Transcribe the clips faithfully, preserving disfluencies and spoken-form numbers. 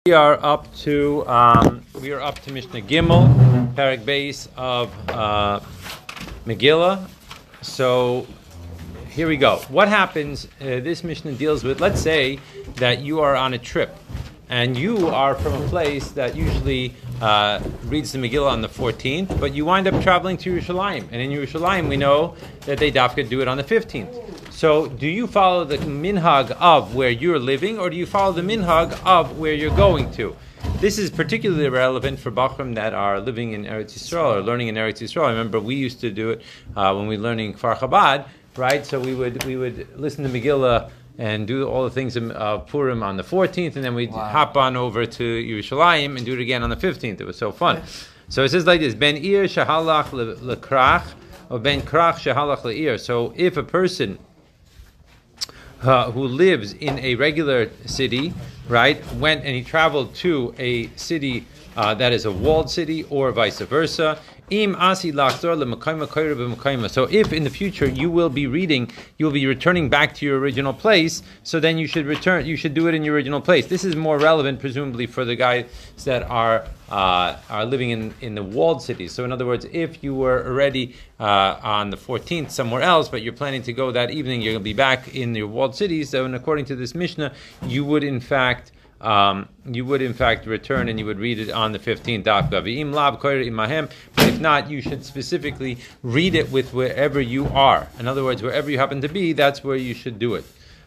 We are up to um, we are up to Mishnah Gimel, Parak Beis of uh, Megillah. So here we go. What happens? Uh, this Mishnah deals with. Let's say that you are on a trip, and you are from a place that usually uh, reads the Megillah on the fourteenth, but you wind up traveling to Yerushalayim, and in Yerushalayim we know that they dafka do it on the fifteenth. So, do you follow the minhag of where you're living, or do you follow the minhag of where you're going to? This is particularly relevant for Bachrim that are living in Eretz Yisrael or learning in Eretz Yisrael. I remember we used to do it uh, when we were learning Kfar Chabad, right? So we would we would listen to Megillah and do all the things of uh, Purim on the fourteenth, and then we'd wow. hop on over to Yerushalayim and do it again on the fifteenth. It was so fun. So it says like this: Ben Ir Shahalach Lekrach, or Ben Krach Shahalach Leir. So if a person Uh, who lives in a regular city, right, went and he traveled to a city uh, that is a walled city, or vice versa. Im asi lachzor lemekayma koyre b'mekayma. So if in the future you will be reading, you will be returning back to your original place, so then you should return, you should do it in your original place. This is more relevant, presumably, for the guys that are uh, are living in, in the walled cities. So in other words, if you were already uh, on the fourteenth somewhere else, but you're planning to go that evening, you're going to be back in your walled cities. So, and according to this Mishnah, you would in fact Um, you would in fact return and you would read it on the fifteenth. But if not, you should specifically read it with wherever you are. In other words, wherever you happen to be, that's where you should do it.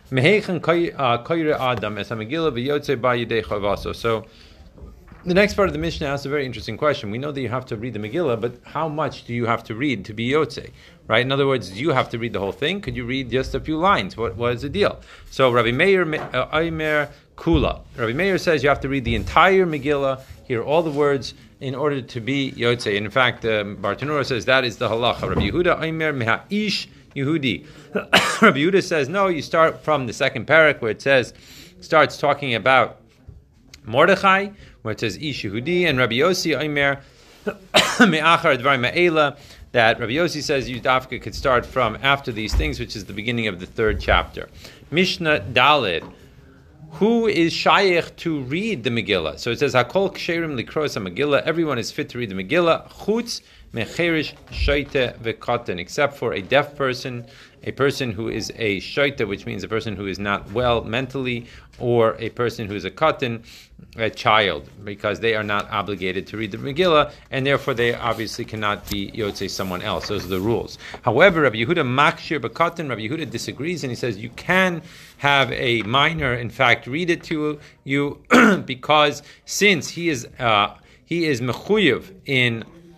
So the next part of the Mishnah asks a very interesting question. We know that you have to read the Megillah, but how much do you have to read to be Yotzei? Right? In other words, do you have to read the whole thing? Could you read just a few lines? What, what is the deal? So Rabbi Meir Aimer Kula. Rabbi Meir says you have to read the entire Megillah, hear all the words, in order to be Yotzei. In fact, um, Bartanura says that is the halacha. Rabbi Yehuda Aimer Meha'ish Yehudi. Rabbi Yehuda says, no, you start from the second parak where it says, starts talking about Mordechai, where it says Ish Yehudi, and Rabbi Yossi Aimer Me'achar Dvar Ma'ela, that Rabbi Yossi says you dafka could start from after these things, which is the beginning of the third chapter. Mishnah Daled. Who is shaykh to read the Megillah? So it says Hakol Ksherim Likros HaMegillah. Everyone is fit to read the Megillah. Chutz Mecherish Shaita Vekatan, except for a deaf person, a person who is a shaita, which means a person who is not well mentally, or a person who is a katan, a child, because they are not obligated to read the Megillah, and therefore they obviously cannot be yotzei someone else. Those are the rules. However, Rabbi Yehuda Makshir B'Katan, Rabbi Yehuda disagrees, and he says you can have a minor, in fact, read it to you, because since he is uh, he is mechuyev in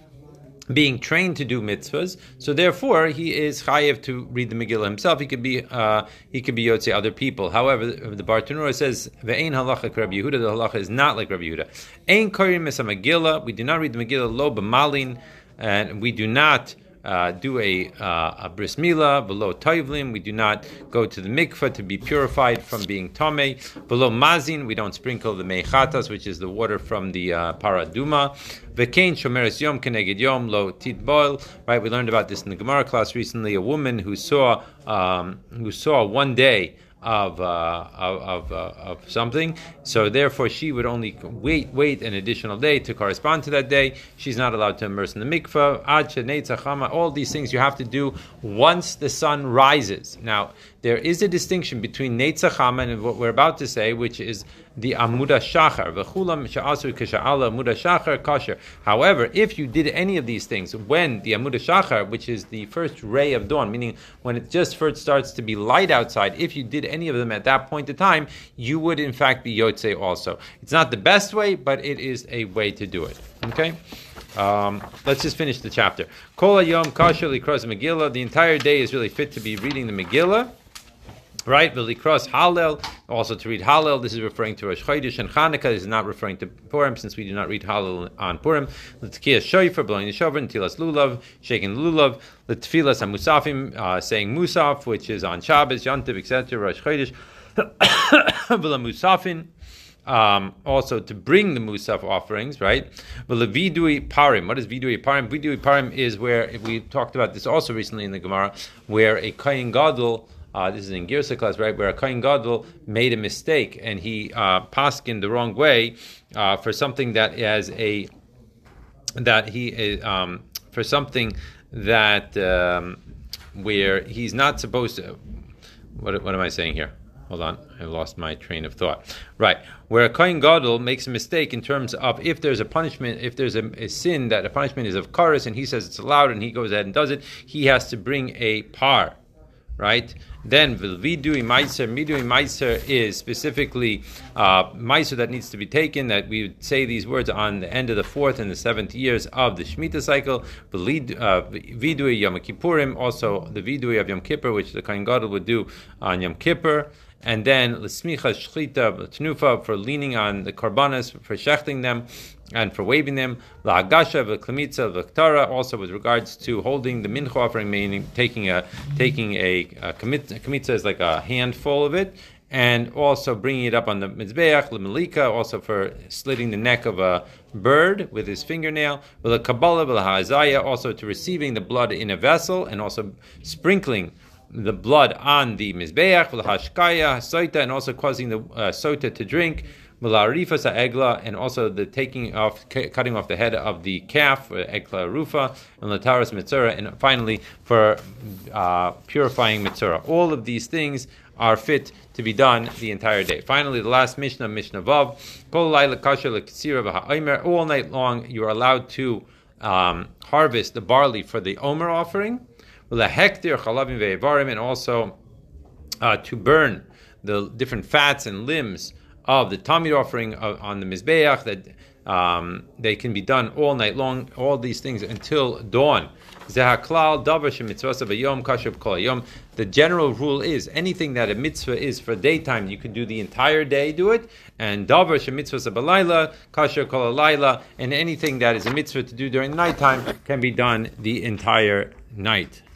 being trained to do mitzvahs, so therefore he is chayev to read the Megillah himself. He could be uh, he could be yotzei other people. However, the Bartanura says ve'ein halacha Rabbi Yehuda. The halacha is not like Rabbi Yehuda. Ein korim es Megillah. We do not read the Megillah lo b'malin, and we do not Uh, do a, uh, a bris milah, below toivlim. We do not go to the mikveh to be purified from being tamei. Below mazin, we don't sprinkle the meichatas, which is the water from the uh, paraduma. V'kein shomeres yom keneged yom lo titboil. Right, we learned about this in the Gemara class recently. A woman who saw um, who saw one day of uh, of of, uh, of something, so therefore she would only wait wait an additional day to correspond to that day. She's not allowed to immerse in the mikveh. Ad sheneitza chama. All these things you have to do once the sun rises. Now there is a distinction between neitza chama and what we're about to say, which is the amuda shachar. V'chulam she'asu k'sha'ala amuda shachar kasher. However, if you did any of these things when the amuda shachar, which is the first ray of dawn, meaning when it just first starts to be light outside, if you did any of them at that point in time, you would in fact be yotzei also. It's not the best way, but it is a way to do it. Okay? Um, let's just finish the chapter. Kol hayom kasher likros Megillah. The entire day is really fit to be reading the Megillah. Right, V'likros Hallel, also to read Hallel. This is referring to Rosh Chodesh and Chanukah. This is not referring to Purim, since we do not read Hallel on Purim. L'tkiyas shofar, blowing the shofar, Tilas lulav, shaking lulav, L'tfilas hamusafim, uh, saying musaf, which is on Shabbos, Yontiv, et cetera. Rosh Chodesh, V'la musafin. Um, also to bring the musaf offerings, right? Vidui parim. What is vidui parim? Vidui parim is where we talked about this also recently in the Gemara, where a kohen gadol Uh, this is in Girsa class, right, where a Kohen Gadol made a mistake and he uh, paskined the wrong way uh, for something that has a that he um, for something that um, where he's not supposed to. What, what am I saying here? Hold on, I lost my train of thought. Right, where a Kohen Gadol makes a mistake in terms of if there's a punishment, if there's a, a sin that a punishment is of kares, and he says it's allowed, and he goes ahead and does it, he has to bring a par, right? Then vidui meiser, midui meiser is specifically uh, meiser that needs to be taken. That we would say these words on the end of the fourth and the seventh years of the Shemitah cycle. Vidui Yom Kippurim, also the vidui of Yom Kippur, which the Kohen Gadol would do on Yom Kippur. And then l'smicha shchita tnufa for leaning on the korbanos, for shechting them and for waving them. La'agasha v'klamitza v'ktara, also with regards to holding the mincha offering, meaning taking a taking a, a kamitza is like a handful of it, and also bringing it up on the mizbeach l'melika, also for slitting the neck of a bird with his fingernail. V'la'kabbalah v'la'ha'azaya, also to receiving the blood in a vessel and also sprinkling the blood on the mizbeach, v'lahashkaya, soita, and also causing the uh, sota to drink, v'larifas egla, and also the taking off, c- cutting off the head of the calf, egla rufa, and lataras mitzura, and finally for uh, purifying mitzura. All of these things are fit to be done the entire day. Finally, the last Mishnah, Mishnah Vav, kol laila kasher lektsira v'ha'omer, all night long you are allowed to um, harvest the barley for the omer offering, and also uh, to burn the different fats and limbs of the Tamid offering on the Mizbeach, that um, they can be done all night long, all these things until dawn. The general rule is anything that a mitzvah is for daytime, you can do the entire day, do it. And davar shemitzvah balayla, kasher kol halayla, and anything that is a mitzvah to do during the nighttime can be done the entire night.